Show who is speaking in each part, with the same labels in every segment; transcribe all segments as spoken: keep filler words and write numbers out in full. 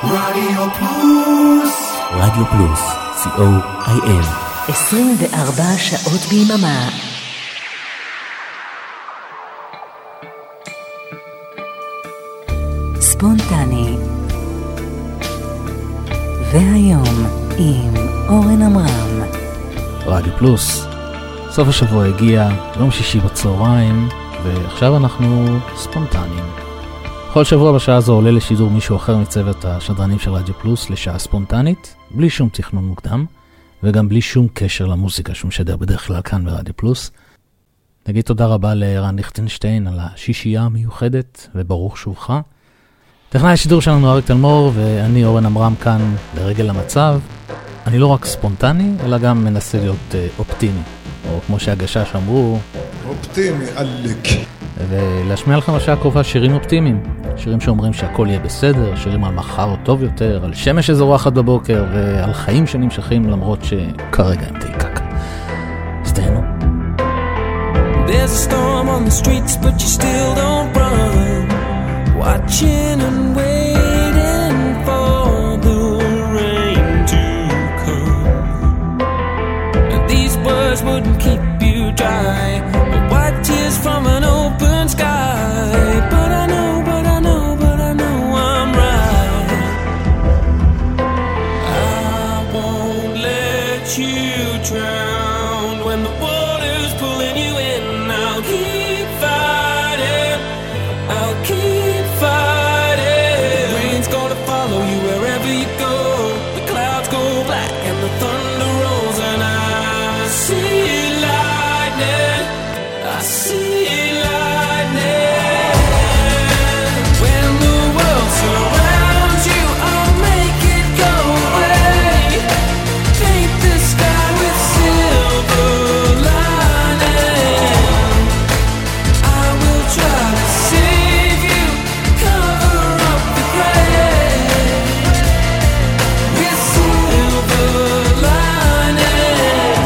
Speaker 1: רדיו פלוס,
Speaker 2: רדיו פלוס, סי או איי אל,
Speaker 3: עשרים וארבע שעות ביממה. ספונטני. והיום עם אורן אמרם.
Speaker 4: רדיו פלוס, סוף השבוע הגיע, יום שישי בצהריים, ועכשיו אנחנו ספונטניים. כל שבוע בשעה הזו עולה לשידור מישהו אחר מצוות השדרנים של רדיו פלוס לשעה ספונטנית, בלי שום תכנון מוקדם, וגם בלי שום קשר למוזיקה שהוא משדר בדרך כלל כאן ברדיו פלוס. נגיד תודה רבה לרן ליכטנשטיין על השישייה המיוחדת, וברוך שובך. טכנאי השידור שלנו אריק תלמור, ואני אורן אמרם כאן לרגל המצב. אני לא רק ספונטני, אלא גם מנסה להיות אופטימי, או כמו שהגשש אמרו,
Speaker 1: אופטימי, עלק.
Speaker 4: ולהשמיע לכם בשעה הקרובה שירים אופטימיים, שירים שאומרים שהכל יהיה בסדר, שירים על מחר טוב יותר, על שמש שזורחת בבוקר, ועל חיים שנמשכים למרות שכרגע הם תיקק. סתינו.
Speaker 5: There's a storm on the streets but you still don't run, watching and waiting for the rain to come. And these words wouldn't keep you dry, white tears from an open sky. But I know, but I know, but I know I'm right. I won't let you drown when the water's pulling you in. I'll keep fighting, I'll keep fighting. The rain's gonna follow you wherever you go. The clouds go black and the thunder rolls, and I see lightning, I see lightning. When the world surrounds you, I'll make it go away. Paint the sky with silver lining. I will try to save you, cover up the gray with silver lining.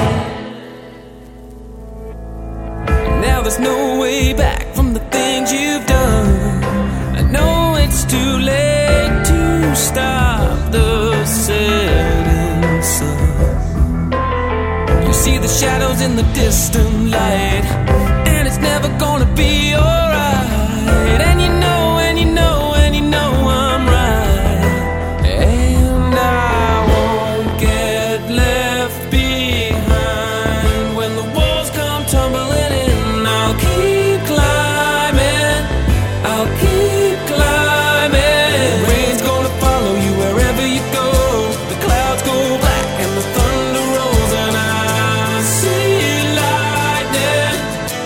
Speaker 5: Now there's no way back from the things you've done. I know it's too late to stop the setting sun. You see the shadows in the distant light, and it's never gonna be alright. And you know, and you know, and you know I'm right. And I won't get left behind when the walls come tumbling in. I'll keep climbing, I'll keep climbing. The rain's gonna follow you wherever you go. The clouds go black and the thunder rolls, and I see lightning,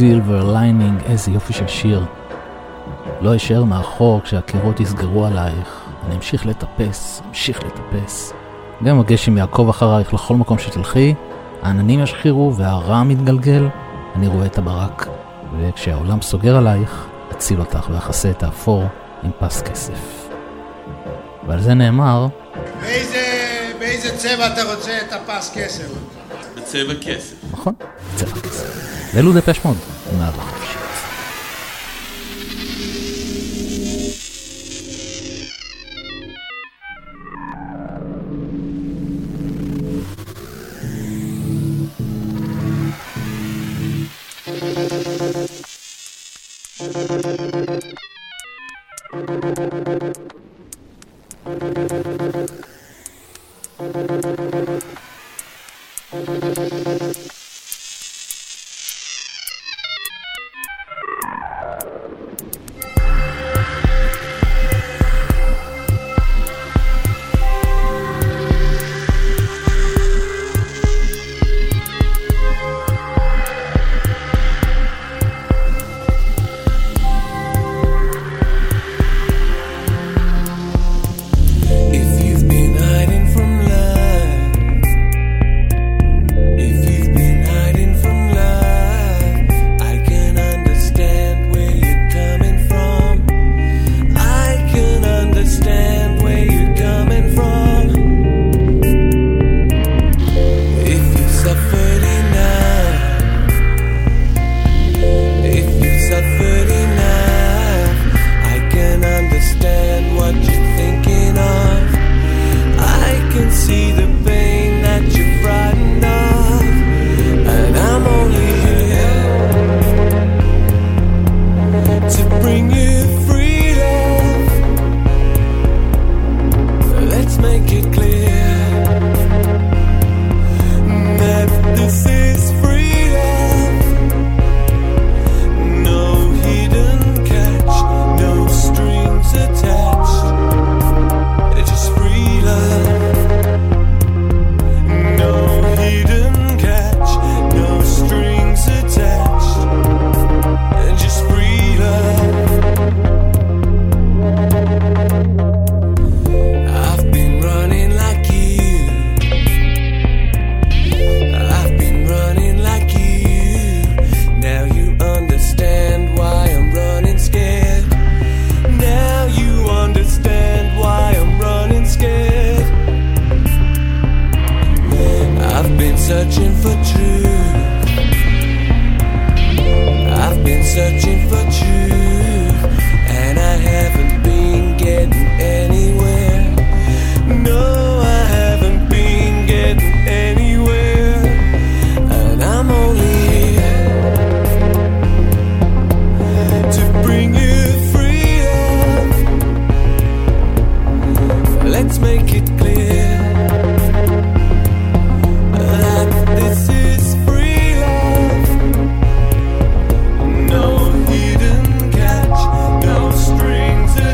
Speaker 4: Silver Lining, איזה יופי של שיר. לא אשאר מאחור כשהקירות יסגרו עלייך, אני אמשיך לטפס, אמשיך לטפס. גם הגשם יעקב אחרייך לכל מקום שתלכי, העננים ישחירו והרע מתגלגל, אני רואה את הברק, וכשהעולם סוגר עלייך, אציל אותך ואחסה את האפור עם פס כסף. ועל זה נאמר,
Speaker 1: באיזה, באיזה צבע אתה רוצה את הפס כסף?
Speaker 6: בצבע כסף.
Speaker 4: נכון, צבע כסף. ואלו דפש מוד, נעד החופשית.
Speaker 5: No hidden catch, no strings.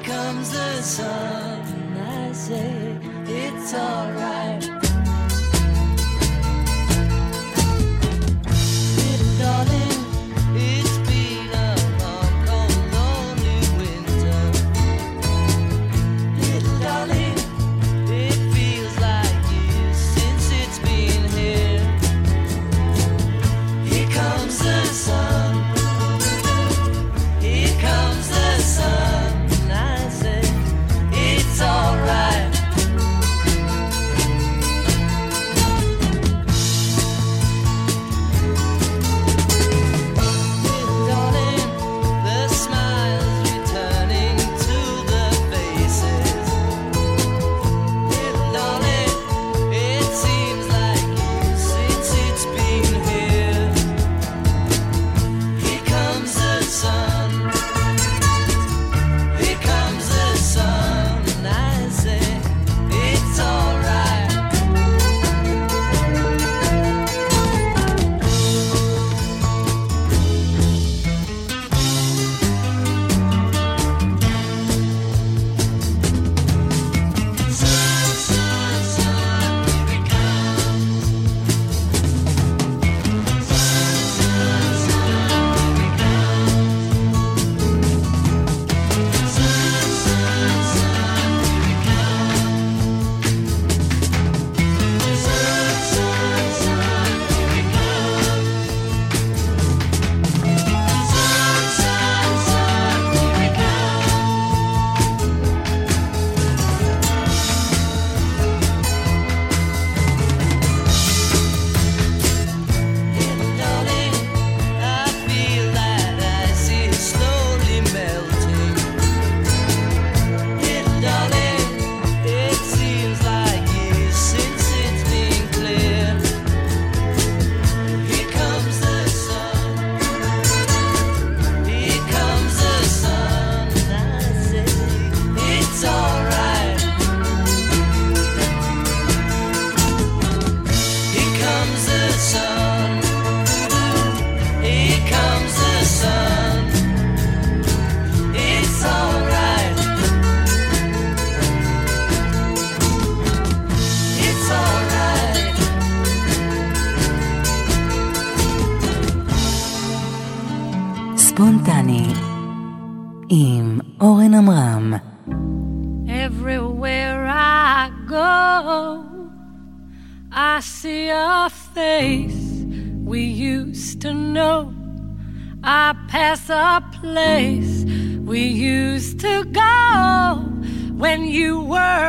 Speaker 5: comes the sun, I say it's alright. Little darling, it's been a long, cold, lonely winter. Little darling, it feels like years since it's been here. Here comes the sun. Here comes the sun. I say it's alright. Little darling, the smiles returning to the faces. Little darling, it seems like years since it's been here. Here comes the sun. Here comes the sun, and I say it's alright. Sun, sun, sun, here it comes. Sun, sun, sun, here it comes. Sun, sun, sun, here it comes. Sun, sun, sun, here it comes. Sun, sun, sun, here it Little darling, I feel that ice is slowly melting. Little darling, it seems like years since it's been clear. Here comes the sun. Here comes the sun, and I say it's alright. Here comes the sun. Here comes the sun. It's alright. It's alright.
Speaker 3: ספונטני עם אורן עמרם.
Speaker 7: Everywhere I go, I see a face we used to know. I pass a place we used to go when you were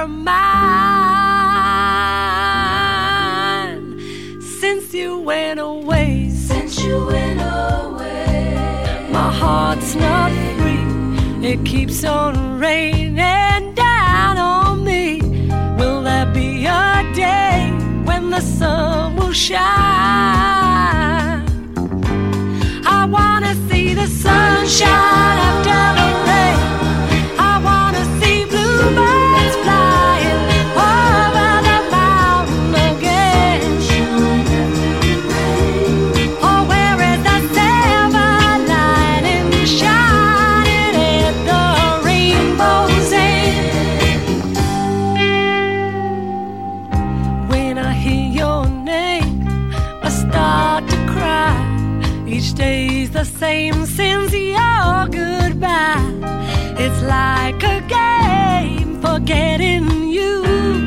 Speaker 7: mine. Since you went away, since you went away, my heart's not free. It keeps on raining down on me. Will there be a day when the sun will shine? I wanna see the sunshine after the rain. I wanna see bluebirds flying over the mountain again. Oh, where is the silver lining shining at the rainbow's end? When I hear your name, I start to cry. Each day's the same since your goodbye. It's like a game, forgetting you.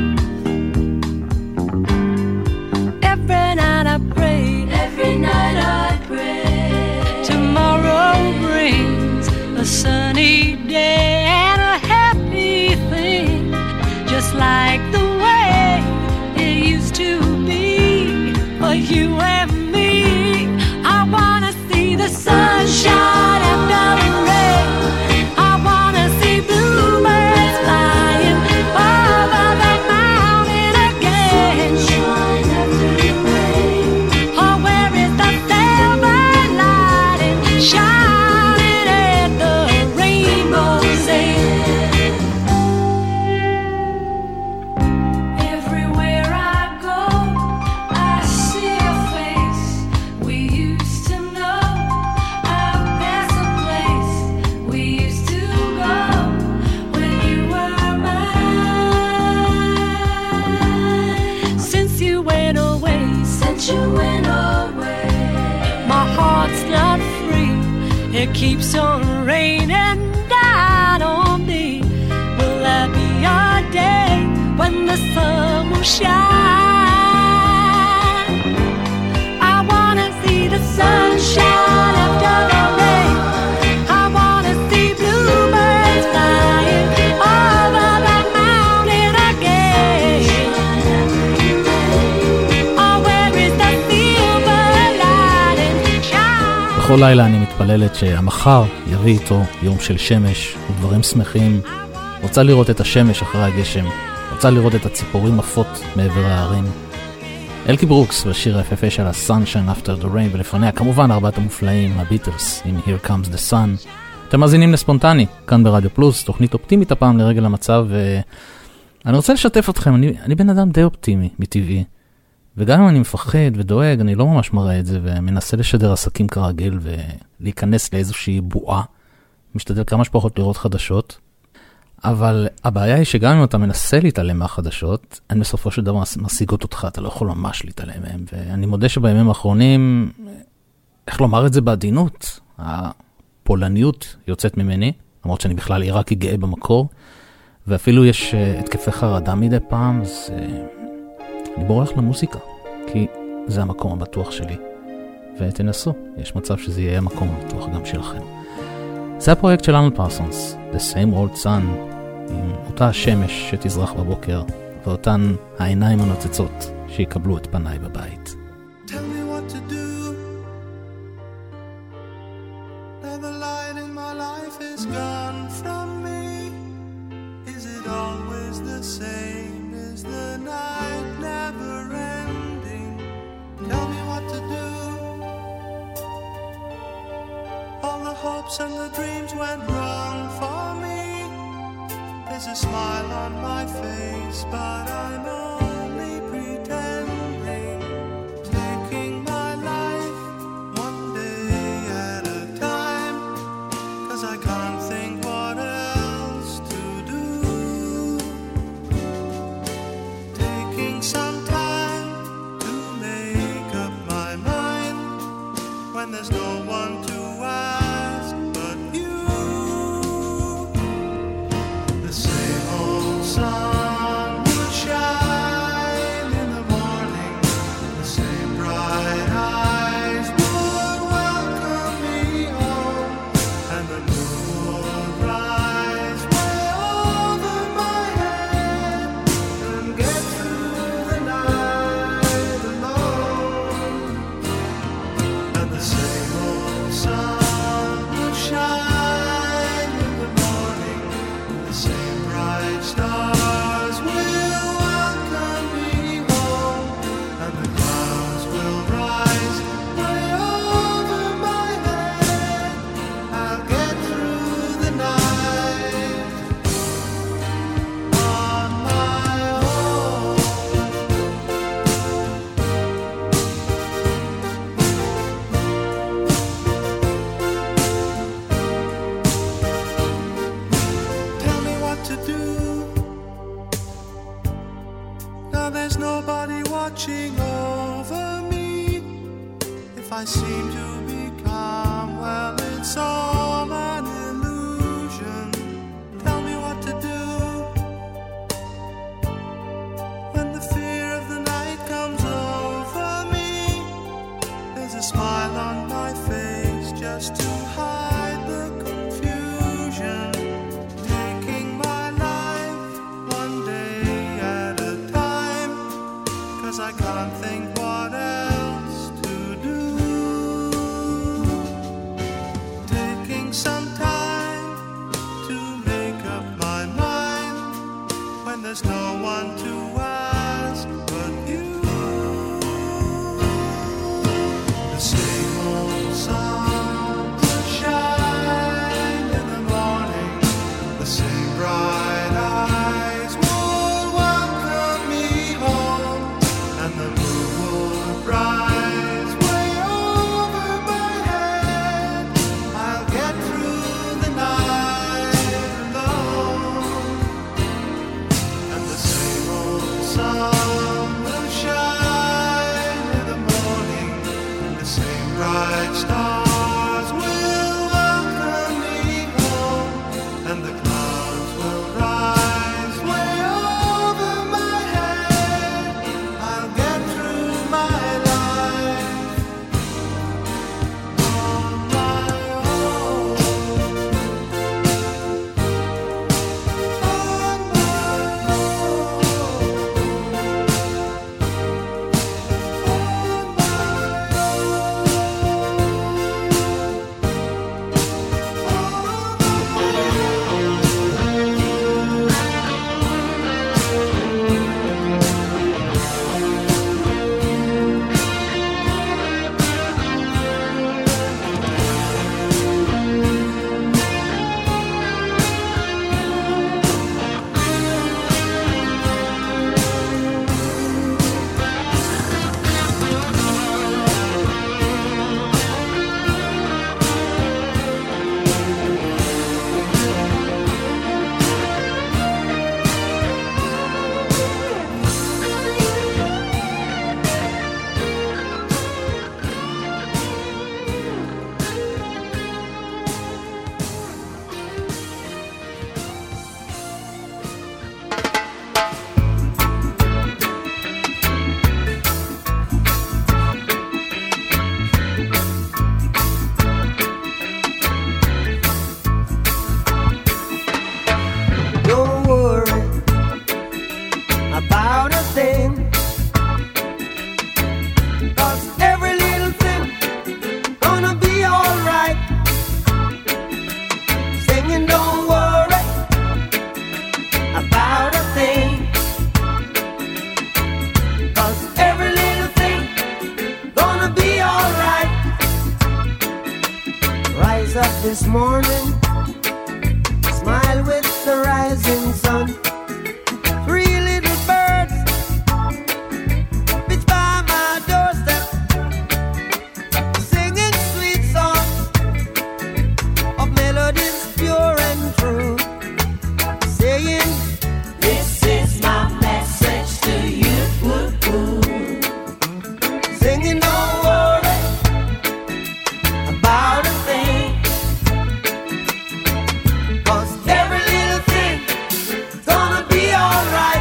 Speaker 7: Every night I pray, every night I pray. Tomorrow brings a sunny day and a happy thing, just like the way it used to be for you and me. I wanna see the sunshine after the rain. I wanna see bluebirds flying over the mountain again. Oh, where is the silver lining shining at the rainbow's end? Everywhere I go, I see a face it keeps on raining down on me. Will there be a day when the sun will shine? I wanna see the sunshine after the rain. I wanna see bluebirds flying over the mountain again. Oh, where is the silver lining shine?
Speaker 4: בכל לילה אני מתפללת שהמחר יביא איתו יום של שמש ודברים שמחים. רוצה לראות את השמש אחרי הגשם, רוצה לראות את הציפורים עפות מעבר הערים. אלקי ברוקס בשיר היפהפה של ה-Sunshine After the Rain, ולפניה כמובן ארבעת המופלאים, הביטלס עם Here Comes the Sun. אתם מאזינים לספונטני, כאן ברדיו פלוס, תוכנית אופטימית הפעם לרגל המצב, ואני רוצה לשתף אתכם, אני, אני בן אדם די אופטימי מטבעי, וגם אם אני מפחד ודואג, אני לא ממש מראה את זה, ומנסה לשדר עסקים כרגיל, ולהיכנס לאיזושהי בועה, משתדל כמה שפחות לראות חדשות, אבל הבעיה היא שגם אם אתה מנסה להתעלם מהחדשות, הן בסופו של דבר משיגות אותך, אתה לא יכול ממש להתעלם מהם, ואני מודה שבימים האחרונים, איך לומר את זה בעדינות, הפולניות יוצאת ממני, למרות שאני בכלל עיראקי גאה במקור, ואפילו יש התקפי חרדה מדי פעם, אז אני בורח למוזיקה, כי זה המקום הבטוח שלי, ותנסו, יש מצב שזה יהיה המקום הבטוח גם שלכם. זה הפרויקט של ארנולד פרסונס, The Same Old Sun, עם אותה השמש שתזרח בבוקר, ואותן העיניים הנוצצות שיקבלו את פניי בבית.
Speaker 8: Tell me what to do. Now the light in my life is gone from me. Is it always the same? Is the night never ending? Tell me what to do. All the hopes and the dreams went wrong for me. There's a smile on my face, but I'm only pretending. Taking my life one day at a time, 'cause I can't think what else to do. Taking some time to make up my mind, when there's no one to ask but you. The same old sun will shine in the morning. The same bright eyes would welcome me home, and the moon would rise way over my head and get through the night alone. And the same old sun will shine in the morning. The same bright stars will welcome me home, and the clouds will rise way over my head. I'll get through the night on my own. Tell me what to do. Now there's nobody watching over me. If I seem to be calm, well, it's all an illusion. Tell me what to do. When the fear of the night comes over me, there's a smile on my face just to hide the confusion. Taking my life one day at a time, 'cause I can't think what else to do. Taking
Speaker 9: morning, smile with the rising sun. Three little birds pitch by my doorstep, singing sweet songs of melodies pure and true, saying, this is my message to you. Singing, don't worry about a thing, 'cause every little thing's gonna be alright.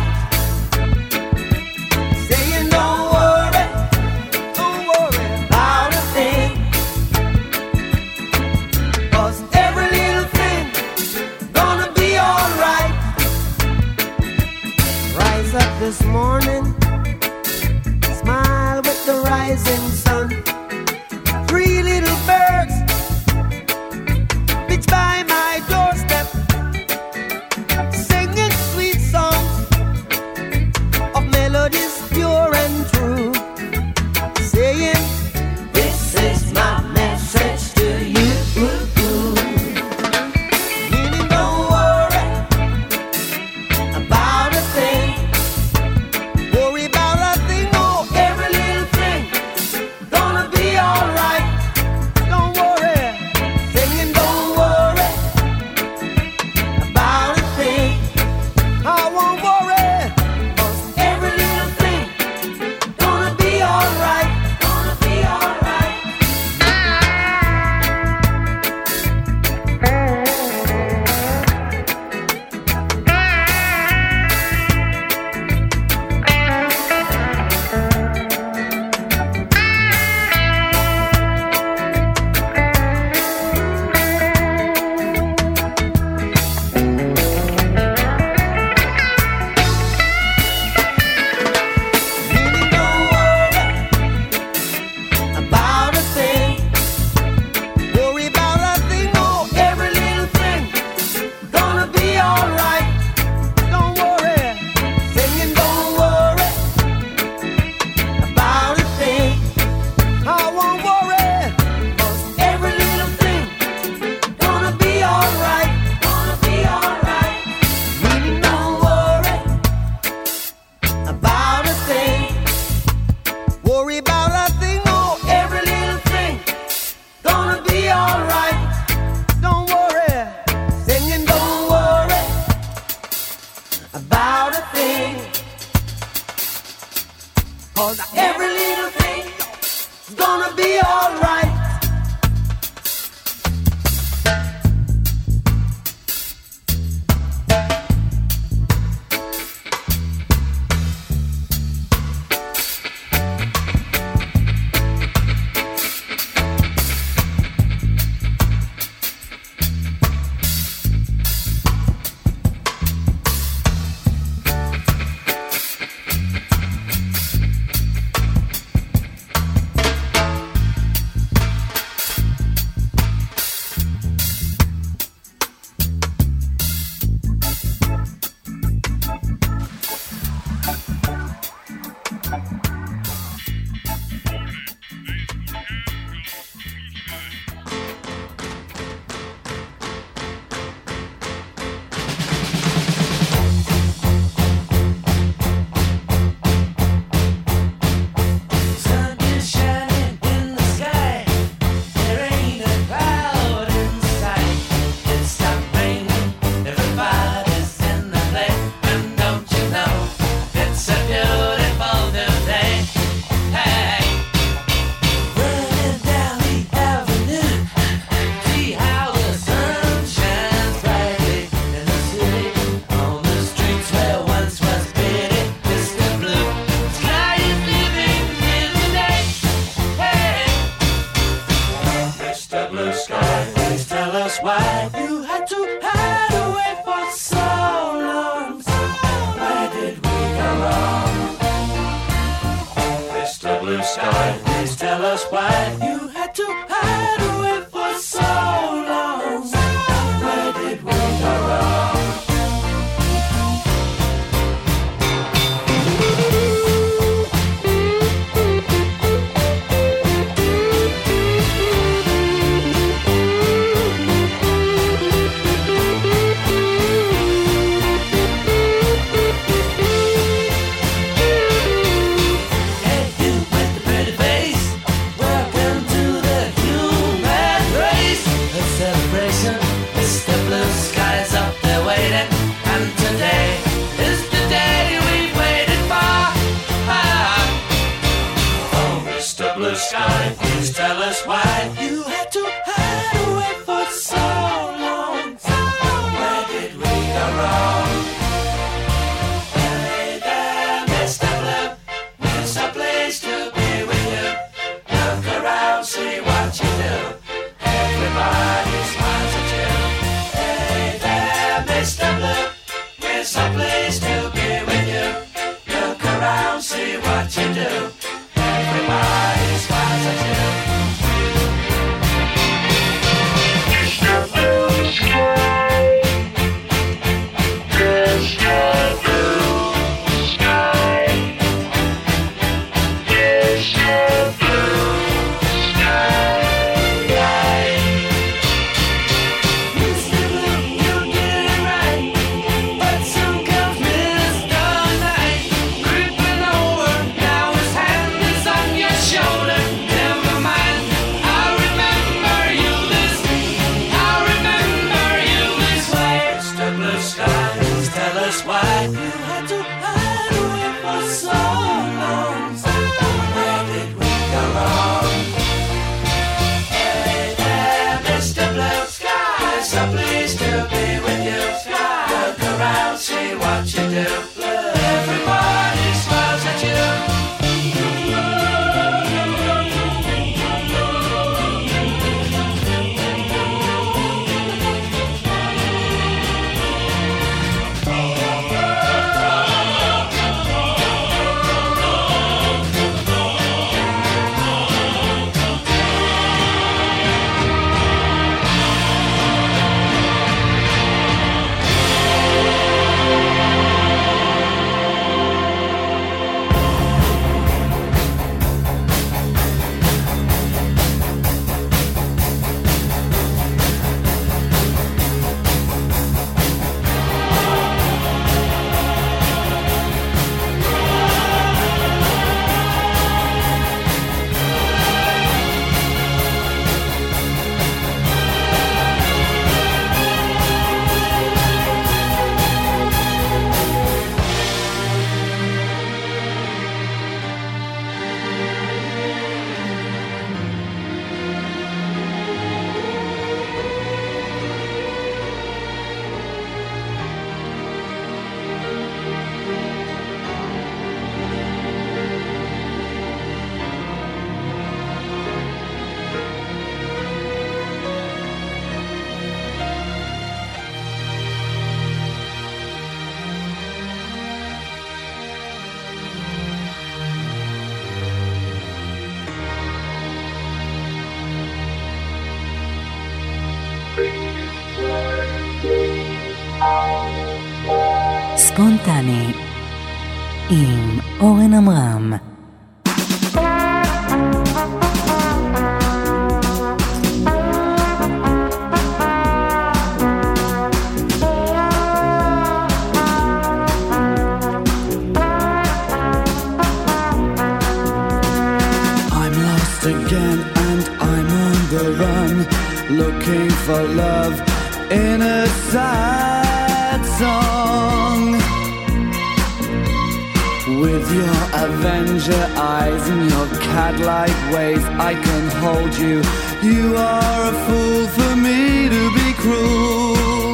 Speaker 9: Saying, don't worry, don't worry about a thing, 'cause every little thing's gonna be alright. Rise up this morning, smile with the rising sun. Three little birds pitch by my doorstep, singing sweet songs of melodies pure and true, saying, this is my message to you. Meaning, don't worry about a thing, worry about a thing, no, every little thing gonna be alright. Don't worry, singing, don't worry about a thing. I won't worry, 'cause every little thing gonna be alright. Gonna be alright. Meaning, don't worry about a thing, worry about a thing, no, every little thing gonna be alright. Don't worry, singing, don't worry about a thing. I won't worry, 'cause every little thing gonna be alright. Gonna be alright. Meaning, don't worry about a thing, worry about a thing, no, every little thing gonna be alright. Don't worry, singing, don't worry about a thing, 'cause every little thing is gonna be alright.
Speaker 5: us why you had to hide away for so long. So where did we go wrong? Hey there, Mister Blue, it's a place to be with you. Look around, see what you do. Everybody smiles at you. Hey there, Mister Blue, it's a place to be with you. Look around, see what you do. Everybody smiles at you.
Speaker 3: ספונטני עם אורן עמרם.
Speaker 10: Again and I'm on the run, looking for love in a sad song. With your Avenger eyes and your cat-like ways, I can hold you. You are a fool for me to be cruel.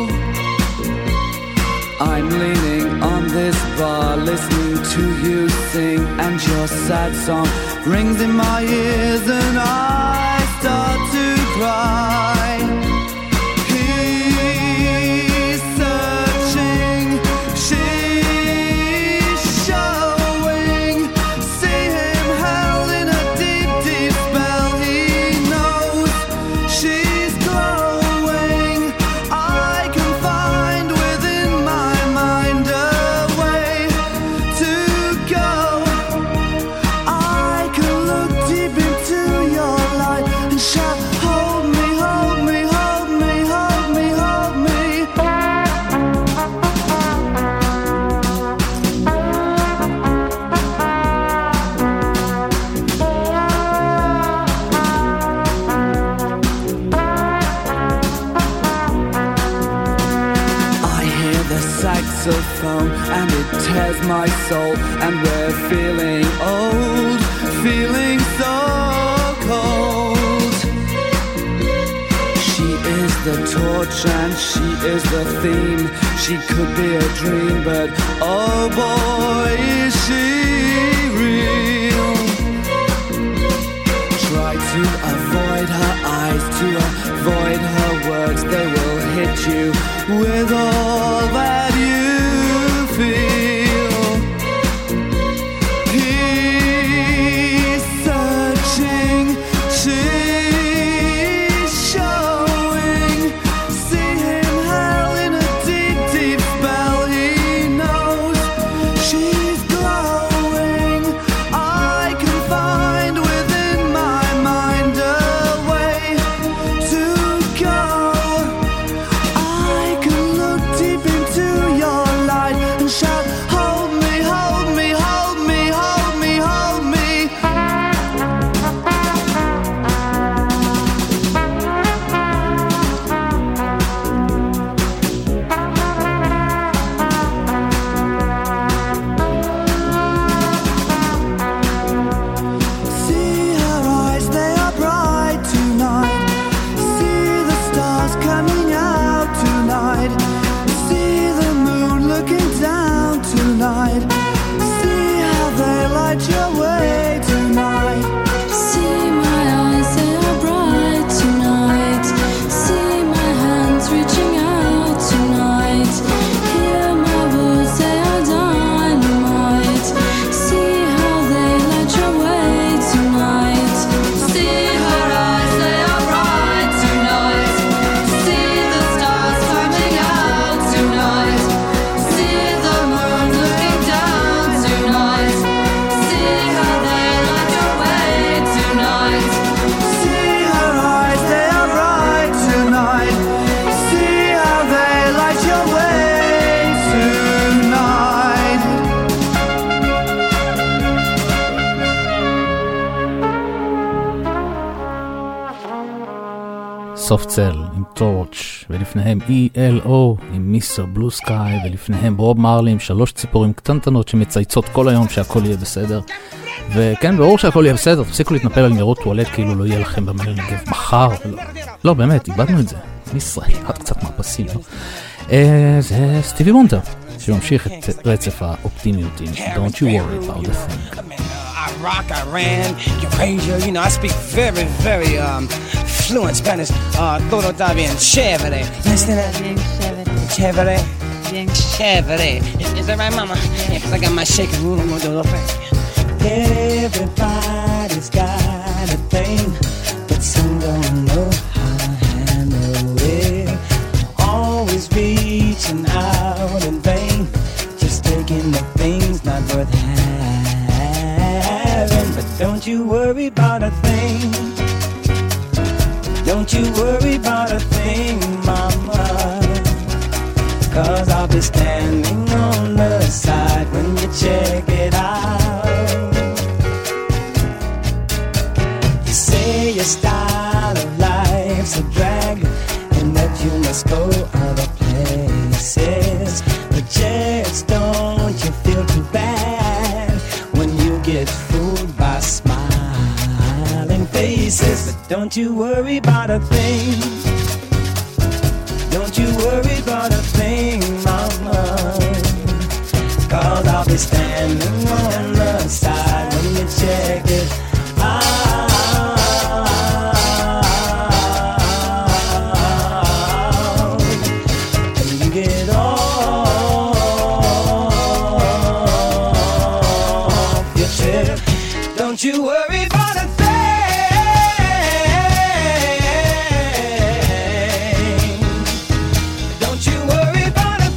Speaker 10: I'm leaning on this bar, listening to you sing, and your sad song rings in my ears and I start to cry. He's searching, she's showing. See him held in a deep, deep spell. He knows she's glowing. I can find within my mind a way to go. I can look deep into your light and shout, hold me, hold me, hold me, hold me, hold me. I hear the saxophone and it tears my soul, and we're feeling old, feeling so cold. is the torch and she is the theme. She could be a dream, but oh boy, is she real. Try to avoid her eyes, to avoid her words. They will hit you with all that you feel. He's searching, she's showing. See him held in a deep, deep spell. He knows she's glowing. I can find within my mind a way to go. I can look deep into your light and shout, hold me, hold me, hold me, hold me, hold me. See her eyes, they are bright tonight. See the stars coming out tonight. See the moon looking down tonight. See how they light your way tonight.
Speaker 7: See my eyes, they are bright tonight. See my hands reaching out tonight. Hear my words, they are dynamite. See how they light your way tonight. See her eyes, they are bright tonight. See the stars coming out tonight. See the moon looking down tonight. See how they light your way tonight.
Speaker 10: See her eyes, they are bright tonight. See how they light your way tonight.
Speaker 4: סופט סל עם טורץ', ולפניהם אי אל או עם מיסטר בלו סקאי, ולפניהם בוב מרלי עם שלוש ציפורים קטנטנות שמצייצות כל היום שהכל יהיה בסדר. וכן, ברור שהכל יהיה בסדר, תפסיקו להתנפל על ניירות טואלט כאילו לא יהיה לכם במה לנגב מחר. לא, לא באמת, איבדנו את זה. מישראל, עד קצת מהפסים, לא? אה, זה סטיבי וונדר, שממשיך את רצף האופטימיות עם Don't you worry about the thing.
Speaker 11: Iraq, Iran, Eurasia, you know, I speak very, very um, fluent Spanish. Uh, todo está bien chévere. You understand that? Bien chévere. Bien chévere. Is, is that right, mama? Yeah, because I got my shaking room. I'm going to do a little thing. Everybody's got a thing, but some don't know how to handle it. Always reaching out in vain, just taking the things not worth having. But don't you worry about a thing. Don't you worry about a thing, mama. Cause I'll be standing on the side when you check it out. You say your style of life's a drag and that you must go other places. But just don't you feel too bad when you get fooled by smiling faces. But don't you worry about a thing. Don't you worry about a thing, mama. Cause I'll be standing on the side when you check it out. And you get off your trip. Don't you worry about a thing. Don't you worry about a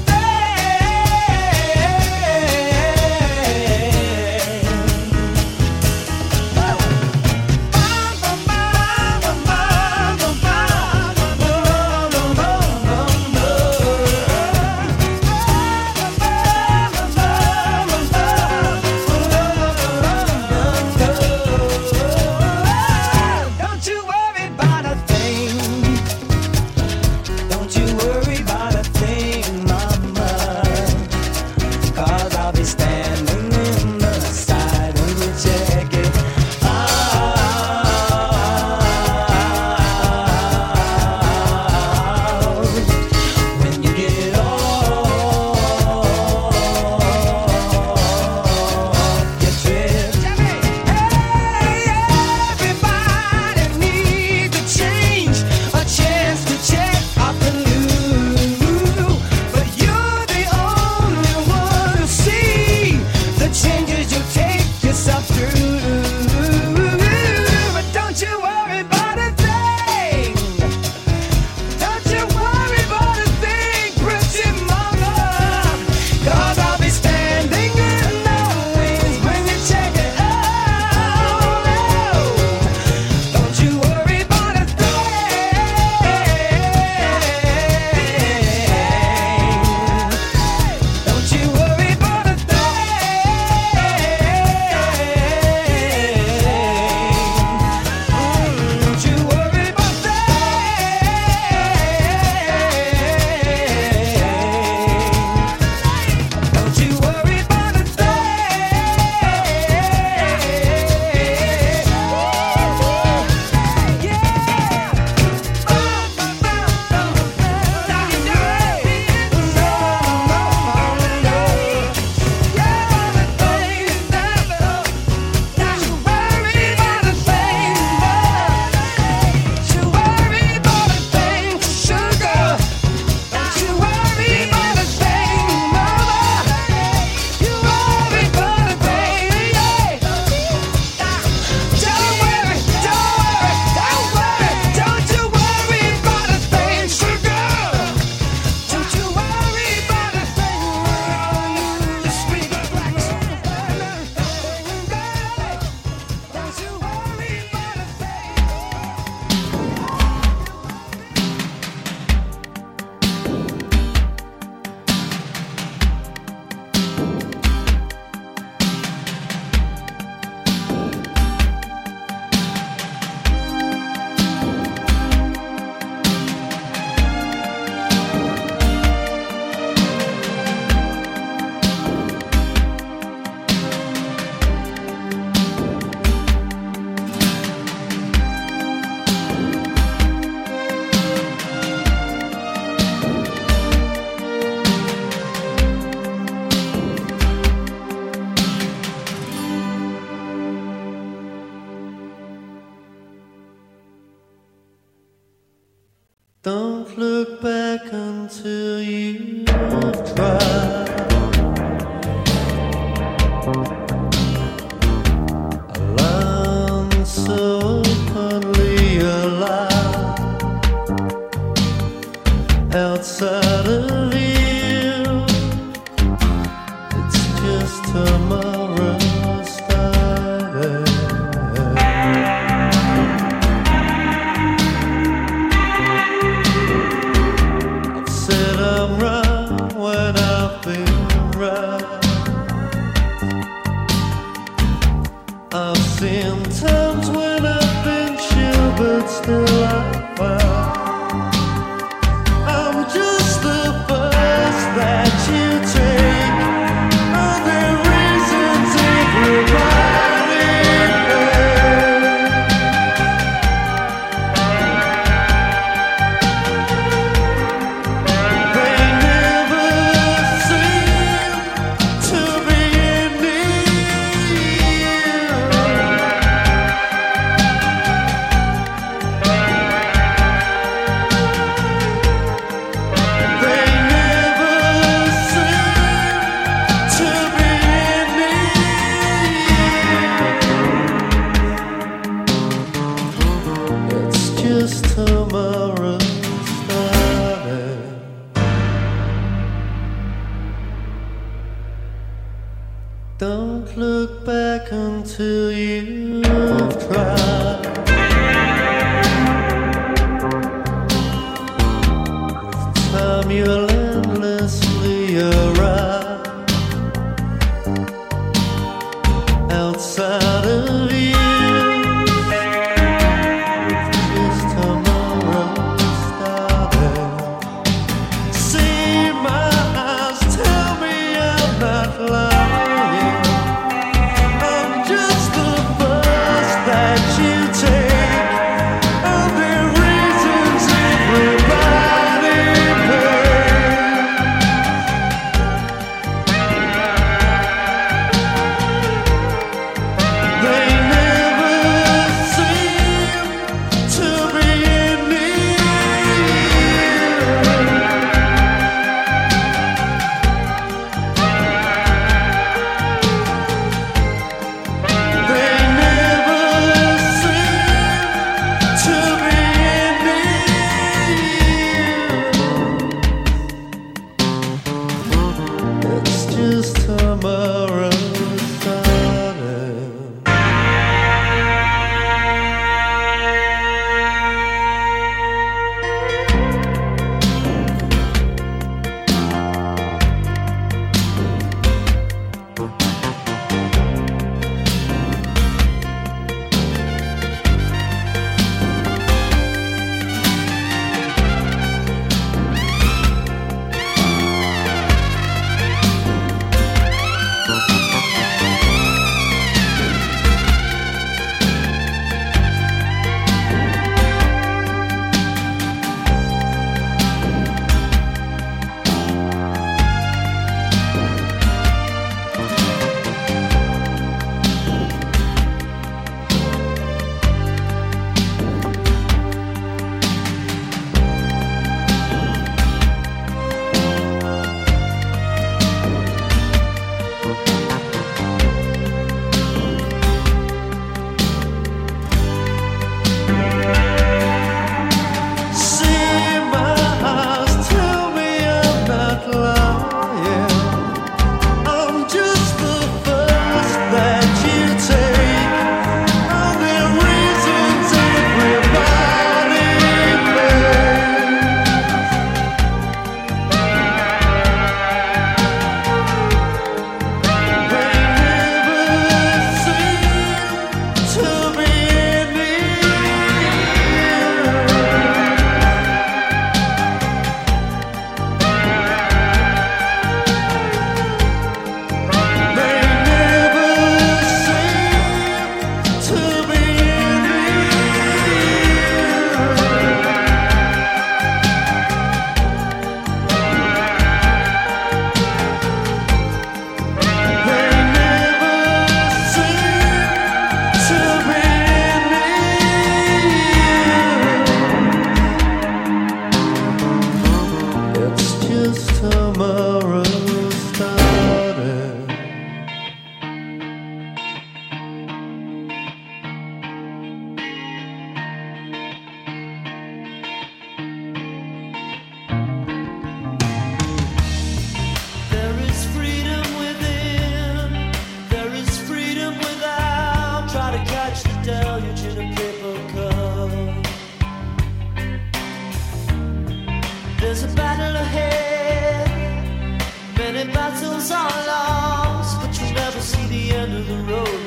Speaker 11: thing.
Speaker 12: just tomorrow started. I've said I'm wrong when I've been right. I've seen times when I've been chill, but still I find I'm just the bus that you take. Are there reasons everybody pays? They never seem to be near. They never seem to be near. It's just tomorrow started. Don't look back until you've tried. With time you'll endlessly arrive outside of you. With just tomorrow started. See my eyes, tell me I'm not lying. I'm just the bus that you take. Are there reasons everybody pays?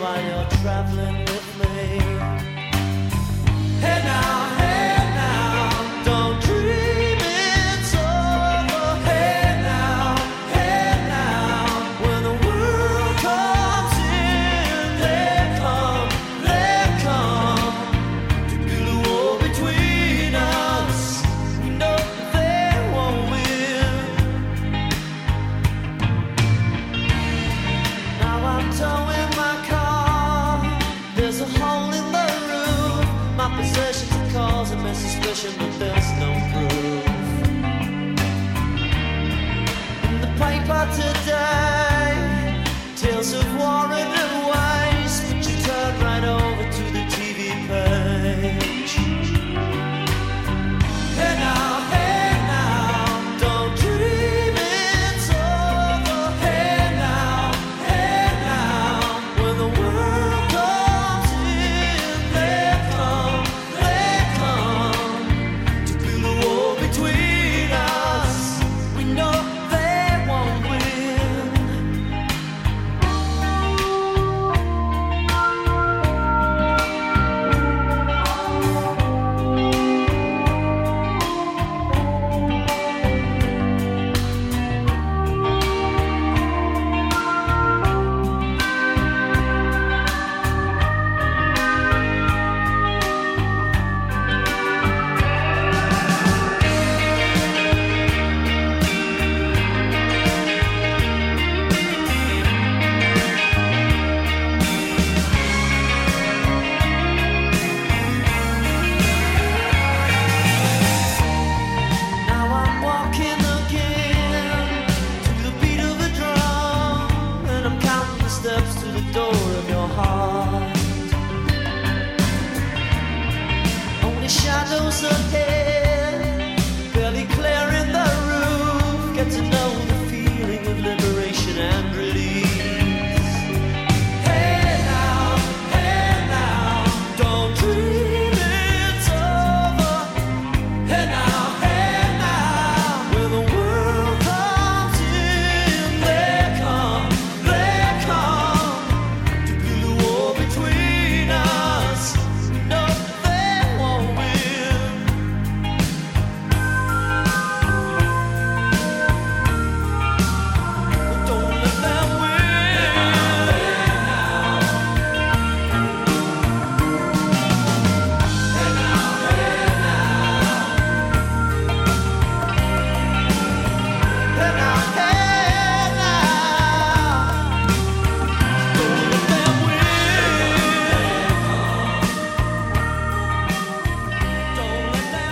Speaker 12: while you're traveling with me. Hey now, hey now, don't dream it's over. Hey now, hey now, when the world comes in, they come, they come to build a wall between us. No, they won't win. Now I'm towing my car. There's a hole in the roof. My possessions are causing me suspicion, but there's no proof. In the paper today, tales of war and waste, but you turn right over to the T V page. Hey now, hey now, don't dream it's over. Hey now, hey now, when the world comes in, they come, they come to build a wall between us. We know they won't win. Now I'm walking again to the beat of a drum, and I'm counting the steps to the door of your heart. Only shadows ahead, barely clearing the roof. Get to know the feeling of liberation and release. Hey now, hey now, don't dream it's over. Hey now, hey now, when the world comes in, they come, they come to build a wall between us. No, they won't win. But don't let them win. Hey now, hey now. Hey now, hey now. Don't let them win. Don't let them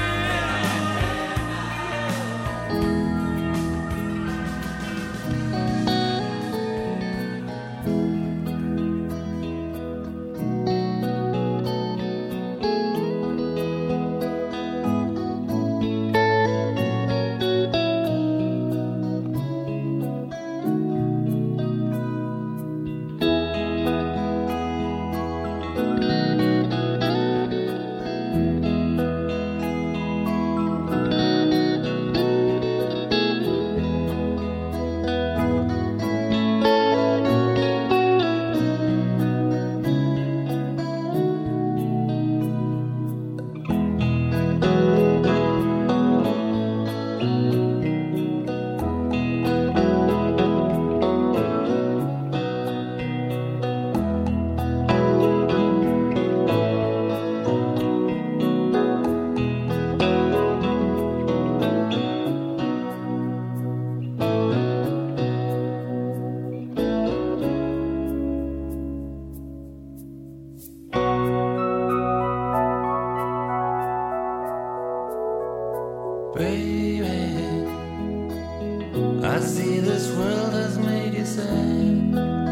Speaker 13: Baby, I see this world has made you sad.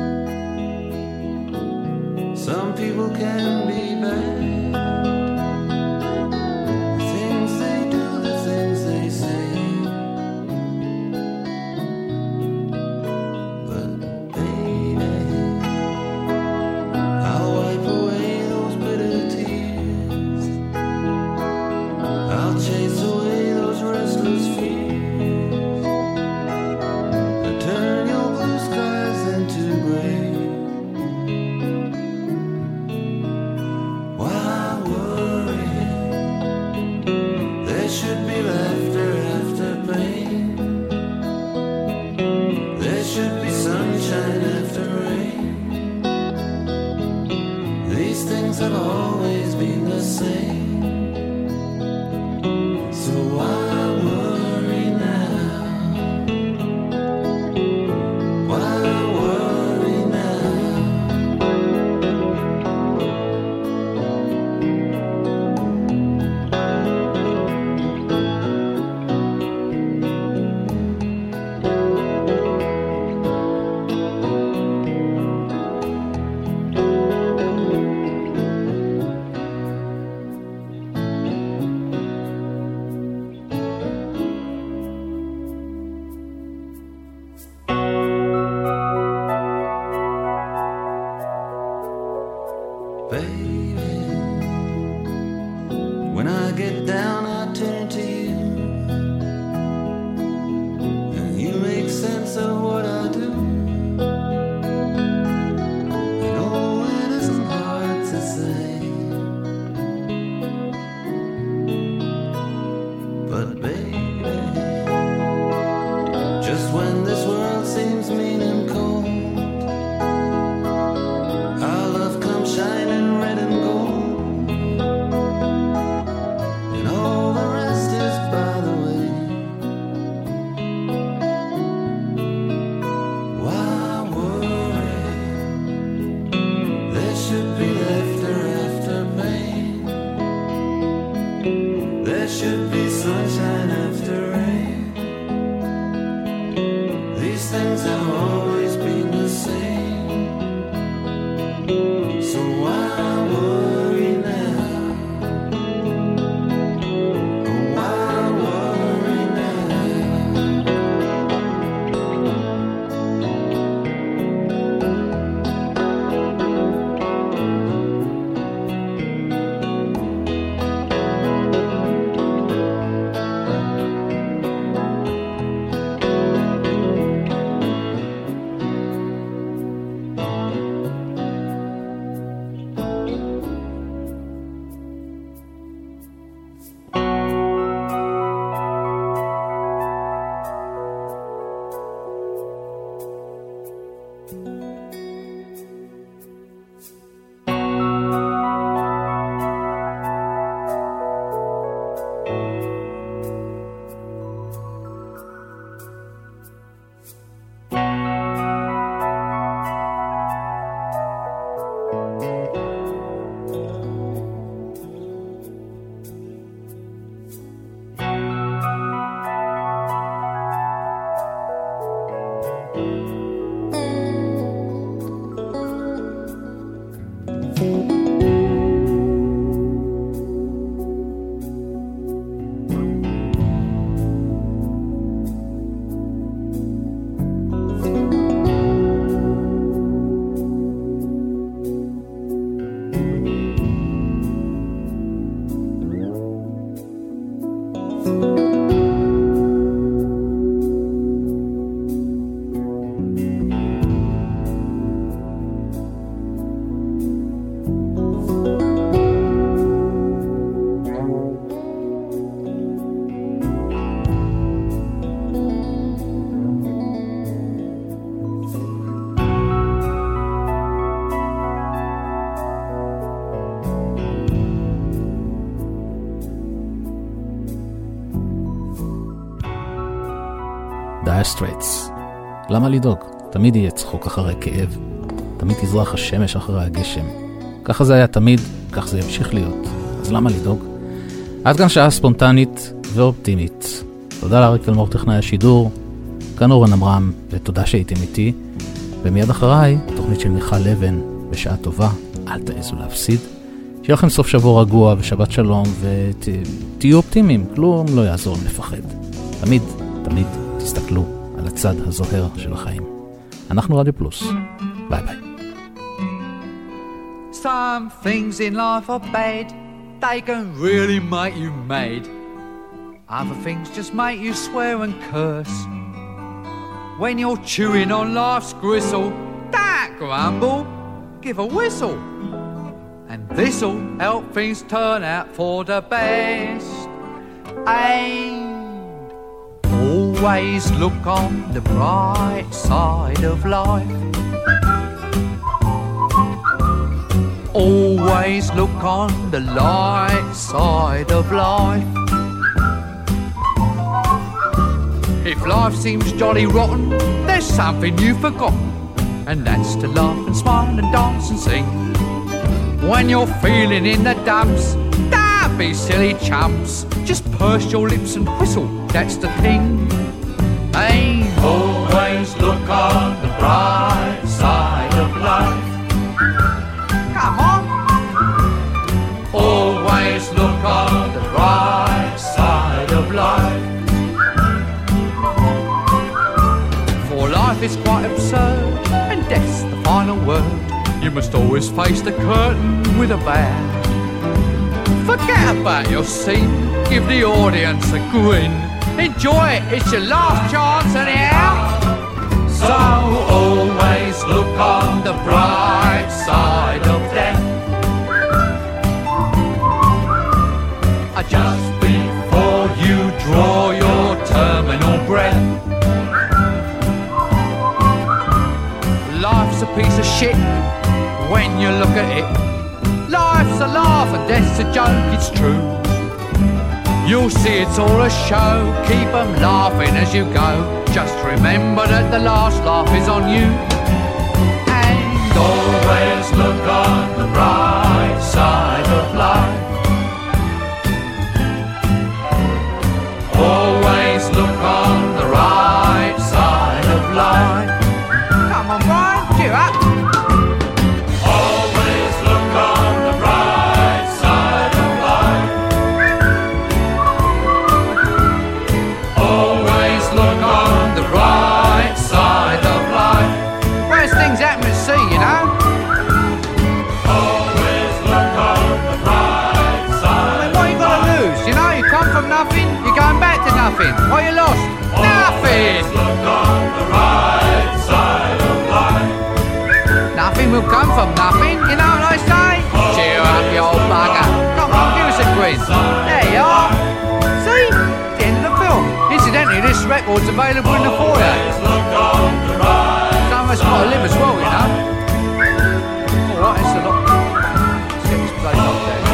Speaker 13: Some people can be bad. The things they do, the things they say. But baby, I'll wipe away those bitter tears. I'll chase away those restless fears. I'll turn your blue skies into gray. have always been the same. So why worry now? Why worry now? Baby, when I get down, I turn to you, and you make sense of what I do. I know it isn't hard to say, but baby, just when this world seems mean and cold, our love comes shining red and gold, and all the rest is by the way. Why worry? There should be laughter after pain. There should be sunshine after rain. These things have always been the same. So why worry now? Why worry now?
Speaker 4: Dire Straits. למה לדאוג? תמיד יהיה צחוק אחרי כאב. תמיד תזרח השמש אחרי הגשם. ככה זה היה תמיד, כך זה ימשיך להיות. אז למה לדאוג? עד כאן שעה ספונטנית ואופטימית. תודה לאריק תלמור טכנאי השידור, כאן אורן עמרם, ותודה שהייתם איתי. ומיד אחריי, תוכנית של מיכל לבן, בשעה טובה, אל תעזו להפסיד. שיהיה לכם סוף שבוע רגוע ושבת שלום, ותהיו אופטימיים, כלום לא יעזור לפחד. תמיד, תמיד תסתכלו על הצד הזוהר של החיים. אנחנו רדיו פלוס. ביי ביי.
Speaker 14: Some things in life are bad, they can really make you mad. Other things just make you swear and curse. When you're chewing on life's gristle, don't grumble, give a whistle. And this'll help things turn out for the best. And always look on the bright side of life. Always always look on the light side of life. If life seems jolly rotten, there's something you've forgotten, and that's to laugh and smile and dance and sing. When you're feeling in the dumps, don't be silly chumps, just purse your lips and whistle, that's the thing. Hey, always look on the bright side of life. Come on. Always look on the bright side of life. For life is quite absurd, and death's the final word. You must always face the curtain with a bow. Forget about your scene, give the audience a grin. Enjoy it, it's your last chance anyhow. So always look on the bright side of death. Just before you draw your terminal breath. Life's a piece of shit when you look at it. Life's a laugh and death's a joke, it's true. You'll see it's all a show, keep 'em laughing as you go. Just remember that the last laugh is on you. And always look on the bright side of life. Always look on the right side of life. Come on, Brian, cheer up. Always look on the bright side of life. Always look on the right side of life. Worst things happen at sea, you know. Always look on the bright side. I mean, what you got to lose? You know, you come from nothing, you're going back to nothing. What you lost? Nothing. Look on the right side of life. Nothing will come from nothing, you know what I say? Cheer up, you old bugger. Come on, give us a quiz. There you are. See? The end of the film. Incidentally, this record's available in the foyer. Some of us got to live as well, you know. Alright, it's a lot. Let's get this place off there.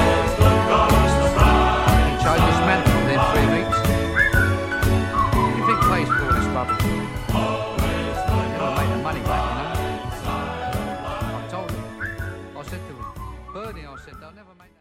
Speaker 14: Change this mantle within three weeks. What do you think pays for all this rubbish? Never make the money back, you know. I told him. I said to him, Bernie, I said, they'll never make